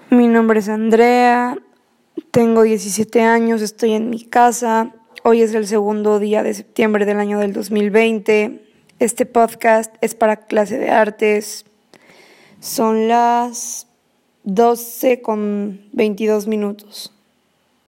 Mi nombre es Andrea, tengo 17 años, estoy en mi casa. Hoy es el segundo día de septiembre del año del 2020. Este podcast es para clase de artes. Son las 12:22.